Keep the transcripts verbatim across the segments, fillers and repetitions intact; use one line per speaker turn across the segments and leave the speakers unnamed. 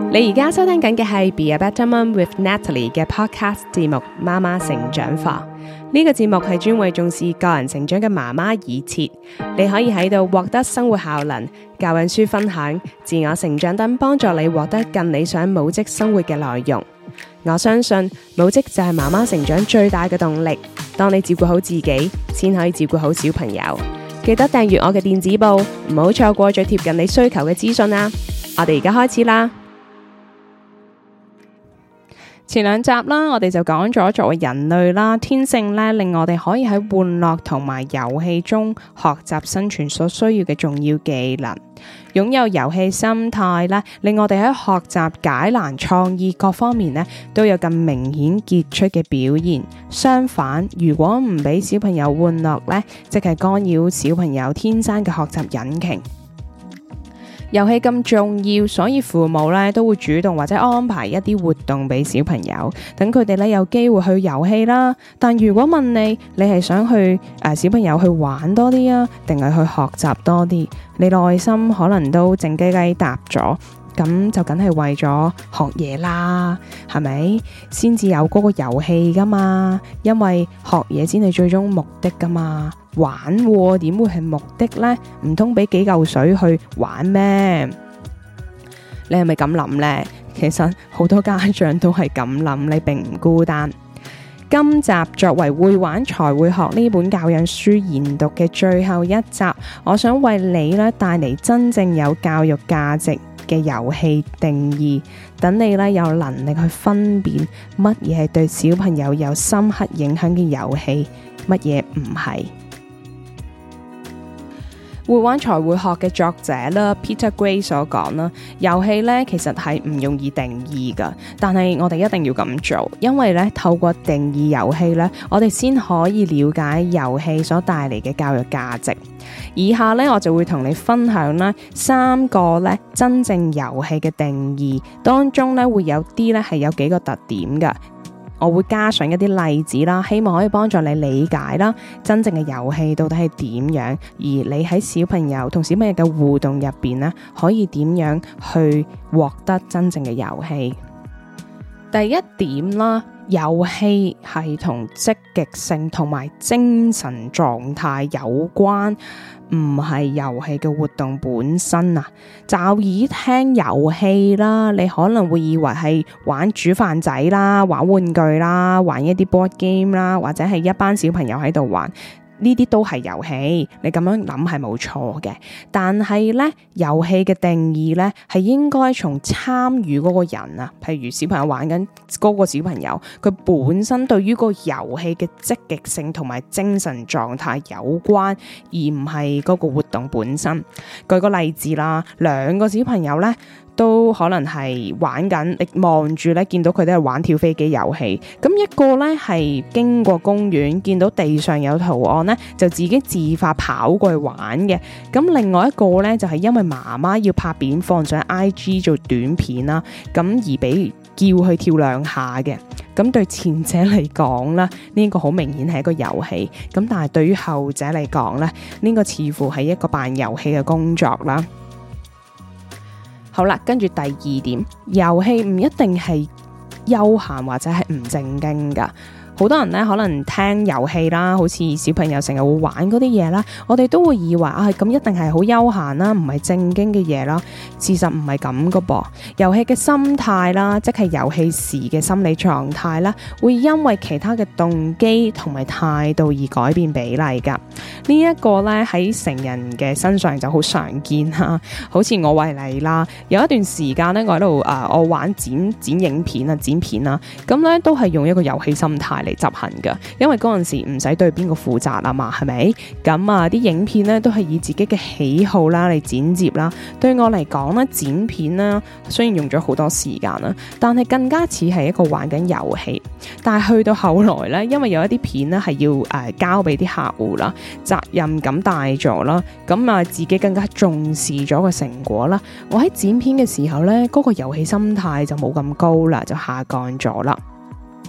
你而家收聽緊嘅係 Be a Better Mom with Natalie 嘅 podcast 節目《媽媽成長課》。呢個節目係專為重視個人成長嘅媽媽而設，你可以喺度獲得生活效能、教養書分享、自我成長等，幫助你獲得更理想母職生活嘅內容。我相信母職就係媽媽成長最大嘅動力。當你照顧好自己，先可以照顧好小朋友。記得訂閱我嘅電子報，唔好錯過最貼近你需求嘅資訊啊！我哋而家開始啦。前兩集啦，我哋就講咗作為人類啦，天性咧令我哋可以喺玩樂同埋遊戲中學習生存所需要嘅重要技能。擁有遊戲心態咧，令我哋喺學習、解難、創意各方面咧都有更明顯傑出嘅表現。相反，如果唔俾小朋友玩樂咧，即係干擾小朋友天生嘅學習引擎。遊戲咁重要，所以父母咧都會主動或者安排一啲活動俾小朋友，等佢哋咧有機會去遊戲啦。但如果問你，你係想去誒、呃、小朋友去玩多啲啊，定係去學習多啲？你內心可能都靜雞雞答咗，咁就梗係為咗學嘢啦，係咪？先至有嗰個遊戲噶嘛，因為學嘢先係最終目的噶嘛。玩喎，點會係目的呢？唔通俾幾嚿水去玩咩？你係咪咁諗呢？其實好多家長都係咁諗，你並唔孤單。今集作為會玩才會學呢本教養書研讀嘅最後一集，我想為你咧帶嚟真正有教育價值嘅遊戲定義，等你咧有能力去分辨乜嘢係對小朋友有深刻影響嘅遊戲，乜嘢唔係。會玩才會學嘅作者啦 Peter Gray 所講啦，遊戲咧其實係唔容易定義噶，但係我哋一定要咁做，因為咧透過定義遊戲咧，我哋先可以了解遊戲所帶嚟嘅教育價值。以下咧我就會同你分享啦三個咧真正遊戲嘅定義，當中咧會有啲咧係有幾個特點噶。我會加上一啲例子啦，希望可以幫助你理解啦，真正嘅遊戲到底係點樣，而你喺小朋友同小朋友嘅互動入邊呢，可以點樣去獲得真正嘅遊戲。第一點啦，遊戲係同積極性同埋精神狀態有關，唔係遊戲嘅活動本身啊。驟耳聽遊戲啦，你可能會以為係玩煮飯仔啦、玩玩具啦、玩一啲 board game 啦，或者係一班小朋友喺度玩。呢啲都係遊戲，你咁樣諗係冇錯嘅。但係咧，遊戲嘅定義咧係應該從參與嗰個人啊，譬如小朋友玩緊嗰個小朋友，佢本身對於個遊戲嘅積極性同埋精神狀態有關，而唔係嗰個活動本身。舉個例子啦，兩個小朋友咧都可能係玩緊，你望住咧見到佢都係玩跳飛機遊戲。咁一個咧係經過公園，見到地上有圖案咧，就自己自發跑過去玩嘅。咁另外一個咧就係因為媽媽要拍片放上 I G 做短片啦，咁而俾叫佢跳兩下嘅。咁對前者嚟講啦，呢個好明顯係一個遊戲。咁但係對於後者嚟講咧，呢個似乎係一個扮遊戲嘅工作啦。好啦，跟住第二點，遊戲唔一定係休閒或者係唔正經噶。好多人咧可能聽遊戲啦，好似小朋友成日會玩嗰啲嘢啦，我哋都會以為啊，咁一定係好休閒啦，唔係正經嘅嘢啦。事實唔係咁噶噃，遊戲嘅心態啦，即係遊戲時嘅心理狀態啦，會因為其他嘅動機同埋態度而改變比例噶。這個、呢一個咧喺成人嘅身上就好常見啦。好似我為例啦，有一段時間咧，我喺度誒，我玩剪剪影片啊，剪片啦，咁咧都係用一個遊戲心態嚟執行噶，因為嗰陣時唔使對邊個負責啊嘛，係咪？咁啊，啲影片咧都係以自己嘅喜好啦嚟剪接啦。對我嚟講咧，剪片啦雖然用咗好多時間啦，但係更加似係一個玩緊遊戲。但係去到後來咧，因為有一啲片咧係要誒、呃、交俾啲客戶啦，責任感大咗啦，咁啊自己更加重視咗個成果啦。我喺剪片嘅時候咧，嗰、嗰個遊戲心態就冇咁高啦，就下降咗啦。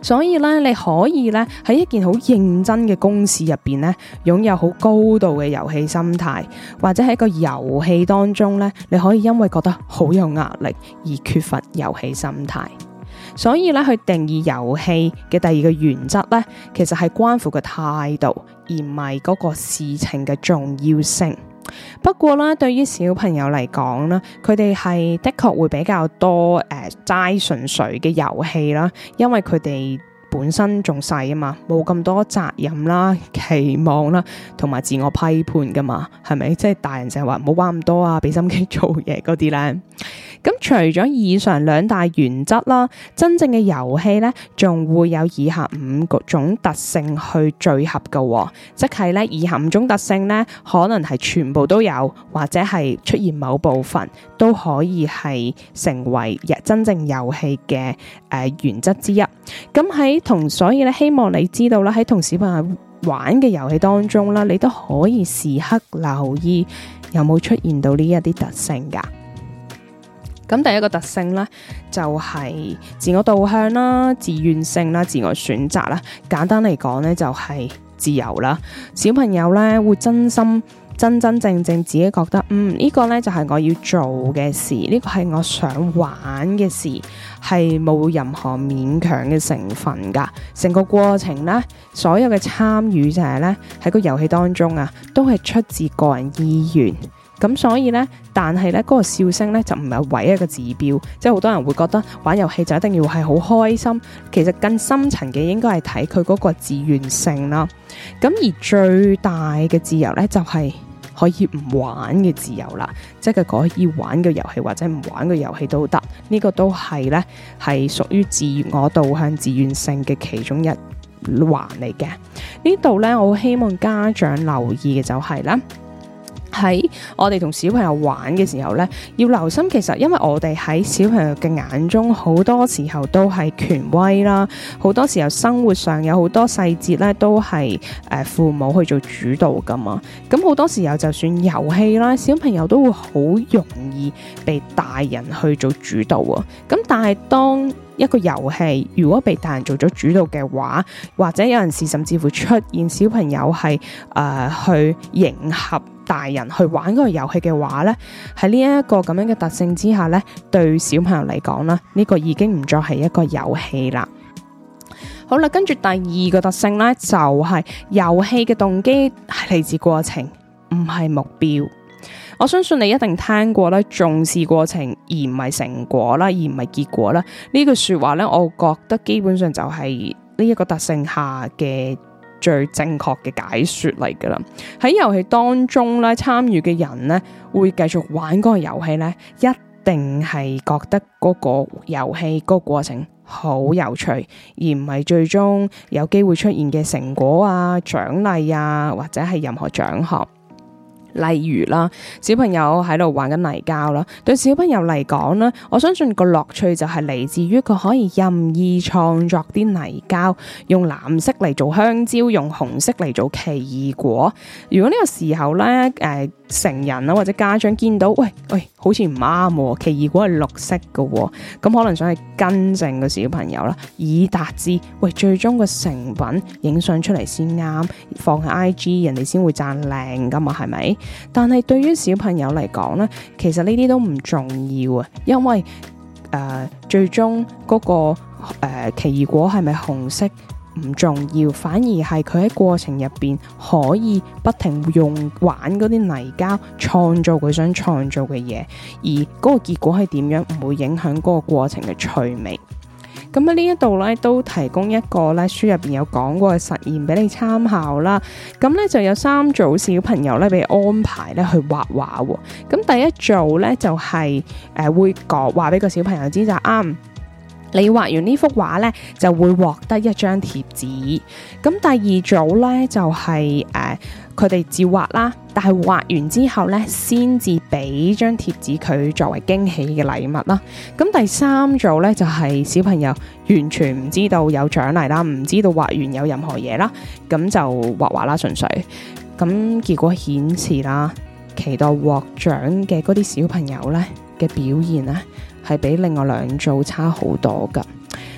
所以咧，你可以咧喺一件好認真嘅公事入邊咧，擁有好高度嘅遊戲心態，或者喺個遊戲當中咧，你可以因為覺得好有壓力而缺乏遊戲心態。所以咧，去定義遊戲嘅第二個原則咧，其實係關乎個態度，而唔係嗰個事情嘅重要性。不過咧，對於小朋友嚟講咧，佢哋係的確會比較多誒齋純粹嘅遊戲啦，因為佢哋本身仲細啊嘛，冇咁多責任啦、期望啦，同埋自我批判噶嘛，係咪？即係大人成日話唔好玩咁多啊，俾心機做嘢嗰啲咧。咁除咗以上兩大原則啦，真正嘅遊戲咧，仲會有以下五個種特性去聚合嘅，即係咧以下五種特性咧，可能係全部都有，或者係出現某部分都可以係成為真正遊戲嘅誒原則之一。咁喺同所以咧，希望你知道啦，喺同小朋友玩嘅遊戲當中啦，你都可以時刻留意有冇出現到呢一啲特性噶。咁第一個特性咧，就係自我導向啦、自願性啦、自我選擇啦。簡單嚟講咧，就係自由啦。小朋友咧會真心、真真正正自己覺得，嗯，呢個咧就係我要做嘅事，呢個係我想玩嘅事，係冇任何勉強嘅成分噶。成個過程咧，所有嘅參與者咧喺個遊戲當中啊，都係出自個人意願。咁所以咧，但係咧嗰個笑聲咧就唔係唯一一個指標，即係好多人會覺得玩遊戲就一定要係好開心，其實更深層嘅應該係睇佢嗰個自願性啦。咁而最大嘅自由咧就係可以唔玩嘅自由啦，即係佢可以玩嘅遊戲或者唔玩嘅遊戲都得，呢個都係咧係屬於自我導向自願性嘅其中一環嚟嘅。呢度咧我希望家長留意嘅就係咧，喺我哋同小朋友玩嘅時候咧，要留心，其實因為我哋喺小朋友嘅眼中，好多時候都係權威啦，好多時候生活上有好多細節咧，都係誒父母去做主導噶嘛。咁好多時候就算遊戲啦，小朋友都會好容易被大人去做主導啊。咁但係當一個遊戲如果被大人做咗主導嘅話，或者有陣時甚至乎出現小朋友係誒、呃、去迎合大人去玩嗰個遊戲嘅話咧，喺呢一個咁樣嘅特性之下咧，對小朋友嚟講啦，呢個已經唔再係一個遊戲啦。好啦，跟住第二個特性咧，就係遊戲嘅動機係嚟自過程，唔係目標。我相信你一定聽過咧，重視過程而唔係成果啦，而唔係結果啦。呢句說話咧，我覺得基本上就係呢一個特性下嘅最正確嘅解說嚟噶啦。喺遊戲當中咧，參與嘅人咧會繼續玩嗰個遊戲咧，一定係覺得嗰個遊戲嗰個過程好有趣，而唔係最終有機會出現嘅成果啊、獎勵啊，或者係任何獎項。例如啦，小朋友喺度玩緊泥膠啦，對小朋友嚟講咧，我相信個樂趣就係嚟自於佢可以任意創作啲泥膠，用藍色嚟做香蕉，用紅色嚟做奇異果。如果呢個時候咧，誒、呃、成人啦或者家長見到，喂喂，好似唔啱，奇異果係綠色嘅，咁可能想去更正個小朋友啦，以達至喂最終個成品影相出嚟先啱，放喺 I G 人哋先會讚靚噶嘛，係咪？但係對於小朋友嚟講咧，其實呢啲都唔重要啊，因為誒、呃、最終嗰、嗰個誒、呃、奇異果係咪紅色唔重要，反而係佢喺過程入邊可以不停用玩嗰啲泥膠創造佢想創造嘅嘢，而嗰個結果係點樣唔會影響嗰個過程嘅趣味。咁喺呢一度咧，都提供一個咧書入邊有講過嘅實驗俾你參考啦。咁咧就有三組小朋友咧被安排咧去畫畫。咁第一組咧就係、是、誒、呃、會講話俾個小朋友知就啱、是。你畫完呢幅畫咧，就會獲得一張貼紙。咁第二組咧就係誒佢哋照畫啦，但係畫完之後咧，先至俾張貼紙佢作為驚喜嘅禮物啦。咁第三組咧就係、是、小朋友完全唔知道有獎勵啦，唔知道畫完有任何嘢啦，咁就畫畫啦，純粹。咁結果顯示啦，期待獲獎嘅嗰啲小朋友咧嘅表現咧，係比另外兩組差好多噶。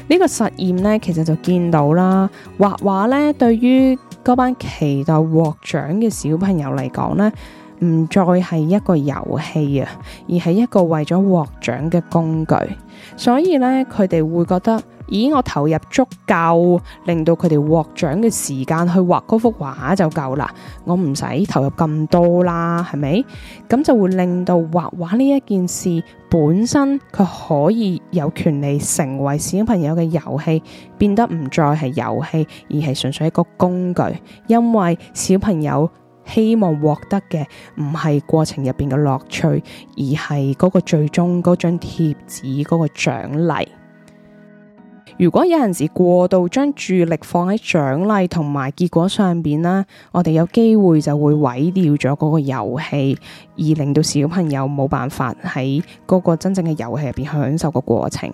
呢個實驗咧，其實就見到啦，畫畫咧對於嗰班期待獲獎嘅小朋友嚟講咧，唔再係一個遊戲啊，而係一個為咗獲獎嘅工具。所以咧，佢哋會覺得，咦，我投入足夠，令到佢哋獲獎嘅時間去畫嗰幅畫就夠啦，我唔使投入咁多啦，係咪？咁就會令到畫畫呢一件事本身，佢可以有權利成為小朋友嘅遊戲，變得唔再係遊戲，而係純粹一個工具。因為小朋友希望獲得嘅唔係過程入邊嘅樂趣，而係嗰個最終嗰張貼紙嗰個獎勵。如果有陣時過度將注意力放喺獎勵同埋結果上邊啦，我哋有機會就會毀掉咗嗰個遊戲，而令到小朋友冇辦法喺嗰個真正嘅遊戲入邊享受個過程。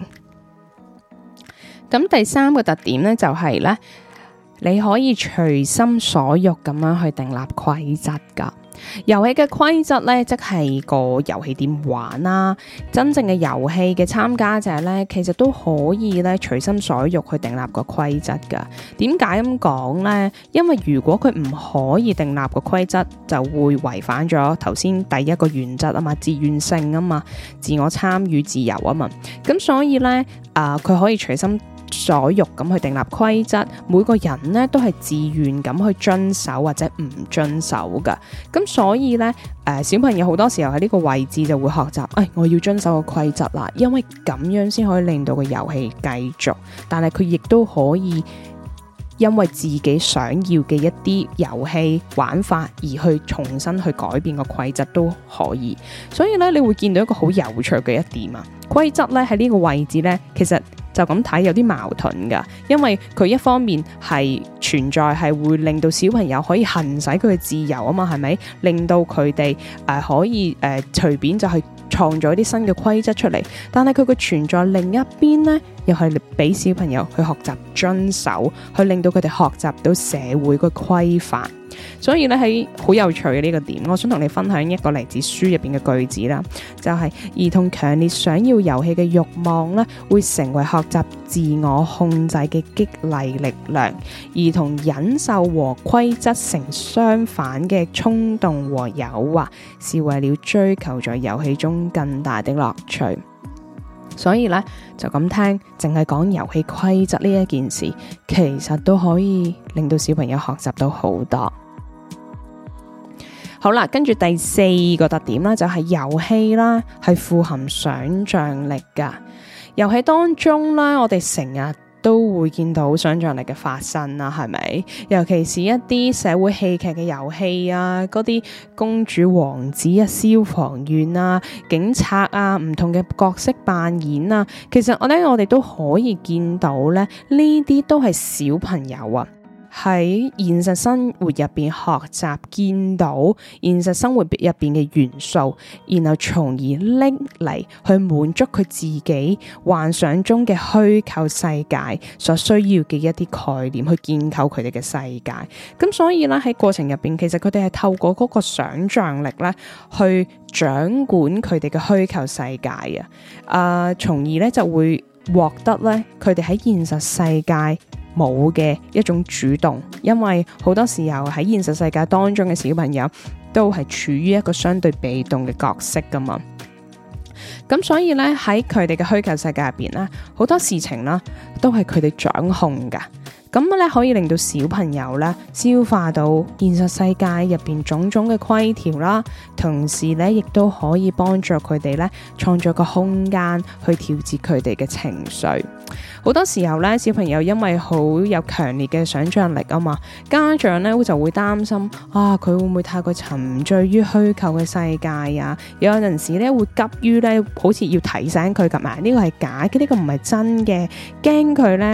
咁第三個特點咧就係咧，你可以隨心所欲咁樣去訂立規則噶。遊戲嘅規則咧，即係個遊戲點玩啦。真正嘅遊戲嘅參加者咧，其實都可以咧隨心所欲去訂立個規則噶。點解咁講咧？因為如果佢唔可以訂立個規則，就會違反咗頭先第一個原則啊嘛，自願性啊嘛，自我參與自由啊嘛。咁所以咧，啊、呃，佢可以隨心所欲咁去訂立規則，每個人咧都係自願咁去遵守或者唔遵守噶。咁所以咧，誒、呃，小朋友好多時候喺呢個位置就會學習，誒、哎，我要遵守個規則啦，因為咁樣先可以令到個遊戲繼續。但係佢亦都可以因為自己想要嘅一啲遊戲玩法而去重新去改變個規則都可以。所以咧，你會見到一個好有趣嘅一點啊，規則咧喺呢個位置咧，其實就咁睇有啲矛盾噶，因為佢一方面係存在係會令到小朋友可以行使佢嘅自由啊嘛，係咪？令到佢哋誒可以誒隨便就係創造一啲新嘅規則出嚟，但係佢嘅存在另一邊呢，又係俾小朋友去學習遵守，去令到佢哋學習到社會嘅規範。所以咧，喺好有趣嘅呢個點，我想同你分享一個嚟自書入邊嘅句子啦，就係兒童強烈想要遊戲嘅慾望咧，會成為學習自我控制嘅激勵力量；兒童忍受和規則成相反嘅衝動和誘惑，是為了追求在遊戲中更大的樂趣。所以咧，就咁聽，淨係講遊戲規則呢一件事，其實都可以令到小朋友學習到好多。好啦，跟住第四個特點啦，就係遊戲啦，係富含想象力噶。遊戲當中咧，我哋成日都會見到想象力嘅發生啦，係咪？尤其是一啲社會戲劇嘅遊戲啊，嗰啲公主王子啊、消防員啊、警察啊，唔同嘅角色扮演啊，其實我咧我哋都可以見到咧，呢啲都係小朋友啊喺現實生活入邊學習，見到現實生活入邊嘅元素，然後從而拎嚟去滿足佢自己幻想中嘅虛構世界所需要嘅一啲概念，去建構佢哋嘅世界。咁所以咧，喺過程入邊，其實佢哋係透過嗰個想象力咧，去掌管佢哋嘅虛構世界啊，啊，從而咧就會獲得咧佢哋喺現實世界冇嘅一種主動，因為好多時候喺現實世界當中嘅小朋友都係處於一個相對被動嘅角色噶嘛，咁所以咧喺佢哋嘅虛構世界入邊咧，好多事情啦都係佢哋掌控噶，咁咧可以令到小朋友咧消化到現實世界入邊種種嘅規條啦，同時咧亦都可以幫助佢哋咧創造個空間去調節佢哋嘅情緒。好多時候咧，小朋友因為好有強烈嘅想象力啊嘛，家長咧就會擔心啊，佢會唔會太過沉醉於虛構嘅世界啊？有陣時咧會急於咧，好似要提醒佢咁啊，呢個係假嘅，呢個唔係真嘅，驚佢咧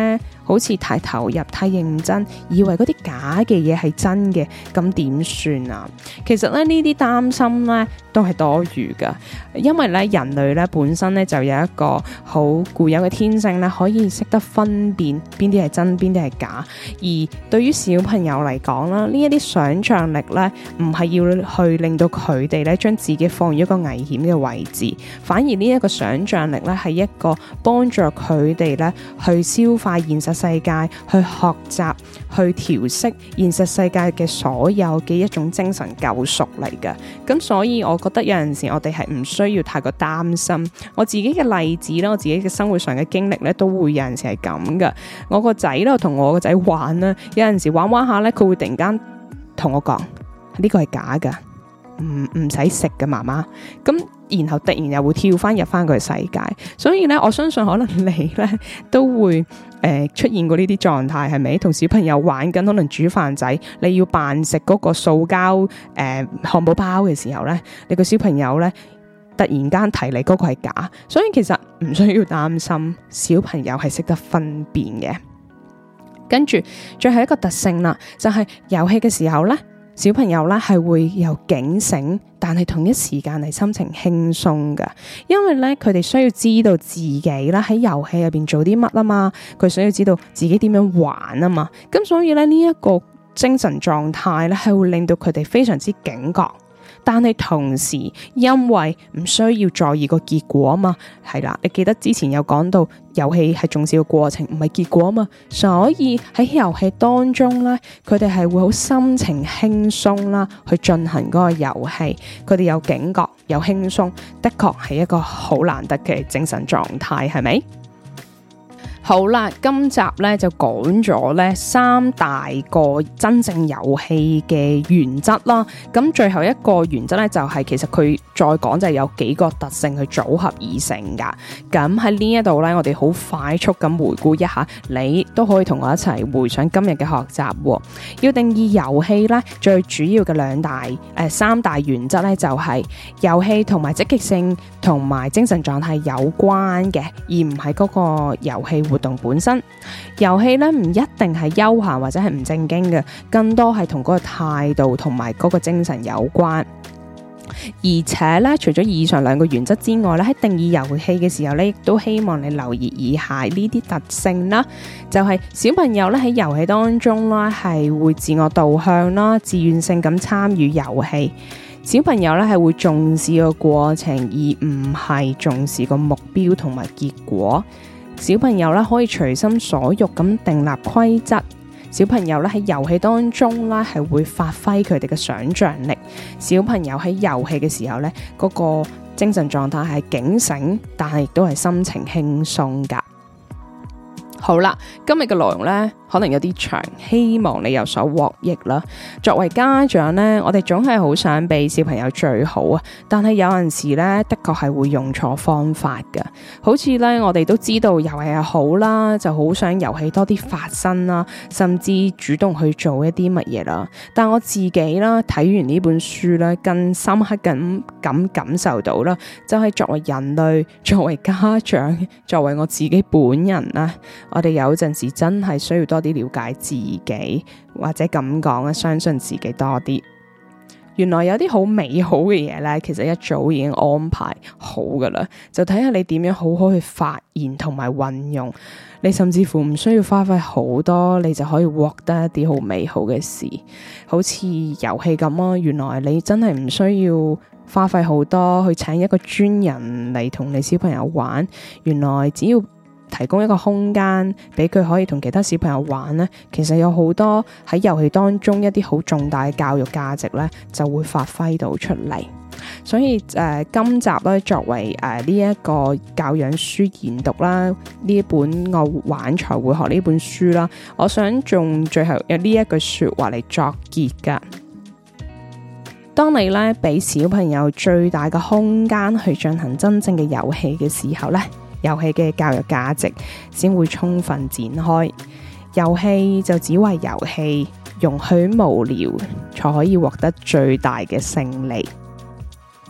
好似太投入、太認真，以為嗰啲假嘅嘢係真嘅，咁點算啊？其實咧呢啲擔心咧都係多餘噶，因為咧人類咧本身咧就有一個好固有嘅天性咧，可以識得分辨邊啲係真，邊啲係假。而對於小朋友嚟講啦，呢一啲想象力咧，唔係要去令到佢哋咧將自己放於一個危險嘅位置，反而呢一個想象力咧係一個幫助佢哋咧去消化現實世界，去學習，去調適現實世界嘅所有嘅一種精神救贖嚟嘅。咁所以我覺得有陣時我哋係唔需要太過擔心。我自己嘅例子啦，我自己嘅生活上嘅經歷咧，都會有陣時係咁噶。我個仔咧同我個仔玩啦，有陣時玩玩下咧，佢會突然間同我講呢個係假噶，唔唔使食噶，媽媽。咁然後突然又會跳翻入翻佢嘅世界。所以咧，我相信可能你咧都會誒、呃、出現過呢啲狀態，係咪？同小朋友玩緊，可能煮飯仔，你要扮食嗰個塑膠誒漢堡包嘅時候咧，你個小朋友咧突然間提你嗰個係假。所以其實唔需要擔心，小朋友係識得分辨嘅。跟住最後一個特性啦，就係遊戲嘅時候咧，小朋友咧係會有警醒，但係同一時間係心情輕鬆噶，因為咧佢哋需要知道自己咧喺遊戲入邊做啲乜啊嘛，佢需要知道自己點樣玩啊嘛，咁所以咧呢一個精神狀態咧係會令到佢哋非常之警覺。但係同時，因為唔需要在意個結果啊嘛，係啦，你記得之前有講到遊戲係重視個過程，唔係結果啊嘛，所以喺遊戲當中咧，佢哋係會好心情輕鬆啦，去進行嗰個遊戲，佢哋有警覺，有輕鬆，的確係一個好難得嘅精神狀態，係咪？好啦，今集咧就講咗咧三大個真正遊戲嘅原則啦。咁最後一個原則咧就係、是、其實佢再講就係有幾個特性去組合而成噶。咁喺呢一度咧，我哋好快速咁回顧一下，你都可以同我一齊回想今日嘅學習、哦。要定義遊戲咧，最主要嘅兩大誒、呃、三大原則咧就係遊戲同埋積極性同埋精神狀態有關嘅，而唔係嗰個遊戲活動本身。遊戲咧唔一定係休閒或者係唔正經嘅，更多係同嗰個態度同埋嗰個精神有關。而且咧，除咗以上兩個原則之外咧，喺定義遊戲嘅時候咧，亦都希望你留意以下呢啲特性啦。就係、是、小朋友咧喺遊戲當中啦，係會自我導向啦，自願性咁參與遊戲。小朋友咧係會重視個過程，而唔係重視個目標同埋結果。小朋友咧可以隨心所欲咁訂立規則。小朋友咧喺遊戲當中咧係會發揮佢哋嘅想象力。小朋友喺遊戲嘅時候咧，嗰個精神狀態係警醒，但係亦都係心情輕鬆噶。好啦，今日嘅內容咧可能有啲長，希望你有所獲益啦。作為家長咧，我哋總係好想俾小朋友最好啊，但係有陣時咧的確係會用錯方法噶。好似咧我哋都知道遊戲係好啦，就好想遊戲多啲發生啦，甚至主動去做一啲乜嘢啦。但我自己啦睇完呢本書咧，更深刻咁咁感受到啦，就係作為人類，作為家長，作為我自己本人啦。我哋有陣時真係需要多啲了解自己，或者咁講啊，相信自己多啲。原來有啲好美好嘅嘢咧，其實一早已經安排好噶啦，就睇下你點樣好好去發現同埋運用。你甚至乎唔需要花費好多，你就可以獲得一啲好美好嘅事。好似遊戲咁啊，原來你真係唔需要花費好多去請一個專人嚟同你小朋友玩。原來只要提供一個空間俾佢可以同其他小朋友玩呢，其實有好多喺遊戲當中一啲好重大嘅教育價值呢，就會發揮到出嚟。所以誒、呃，今集咧作為誒呢一個教養書研讀啦，呢一本我玩才會學呢本書啦，我想用最後有呢一句說話嚟作結噶。當你咧俾小朋友最大嘅空間去進行真正嘅遊戲嘅時候咧，遊戲嘅教育價值先會充分展開。遊戲就只為遊戲，容許無聊才可以獲得最大嘅勝利。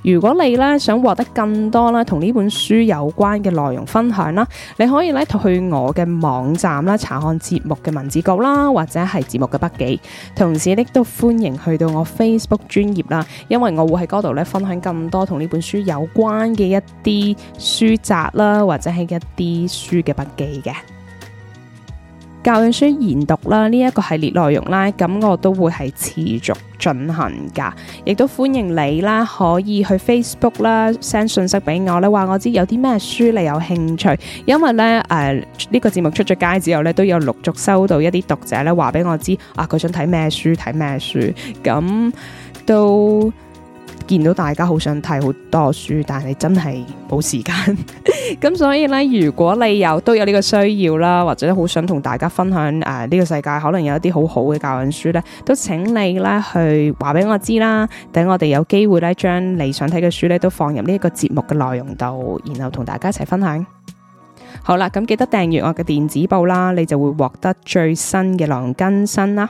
如果你咧想獲得更多啦同呢本書有關嘅內容分享啦，你可以咧去我嘅網站啦查看節目嘅文字稿啦，或者係節目嘅筆記。同時亦都歡迎去到我 Facebook 專頁啦，因為我會喺嗰度咧分享更多同呢本書有關嘅一啲書集啦，或者係一啲書嘅筆記嘅。教養書研讀啦，呢一個系列內容啦，咁我都會係持續進行噶，亦都歡迎你啦，可以去 Facebook 啦 send 信息俾我咧，話我知有啲咩書你有興趣，因為咧誒呢個節目出咗街之後咧，都有陸續收到一啲讀者咧話俾我知啊，佢想睇咩書睇咩書，咁都見到大家好想睇好多書，但係真係冇時間。咁所以咧，如果你有都有呢個需要啦，或者好想同大家分享誒呢、呃這個世界可能有一啲好好嘅教養書咧，都請你咧去話俾我知啦。等我哋有機會咧，將你想睇嘅書咧都放入呢一個節目嘅內容度，然後同大家一齊分享。好啦，咁記得訂閱我嘅電子報啦，你就會獲得最新嘅內容更新啦。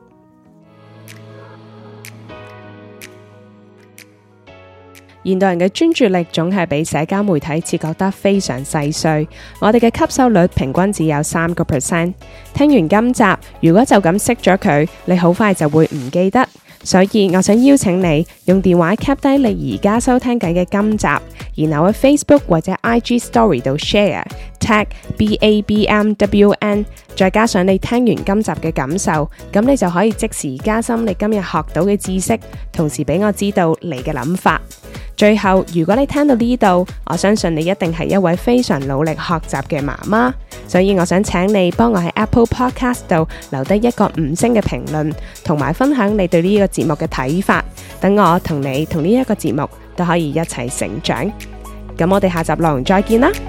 現代人嘅專注力總係被社交媒體切割得非常細碎，我哋嘅吸收率平均只有三個 percent。聽完今集，如果就咁熄咗佢，你好快就會唔記得。所以我想邀請你用電話 cap 低你而家收聽緊嘅今集，然後喺 Facebook 或者 I G Story 度 share tag B A B M W N， 再加上你聽完今集嘅感受，咁你就可以即時加深你今日學到嘅知識，同時俾我知道你嘅諗法。最後，如果你聽到呢度，我相信你一定係一位非常努力學習嘅媽媽，所以我想請你幫我喺 Apple Podcast 度留低一個五星嘅評論，同埋分享你對呢個節目嘅睇法，等我同你同呢一個節目都可以一齊成長。咁我哋下集內容再見啦！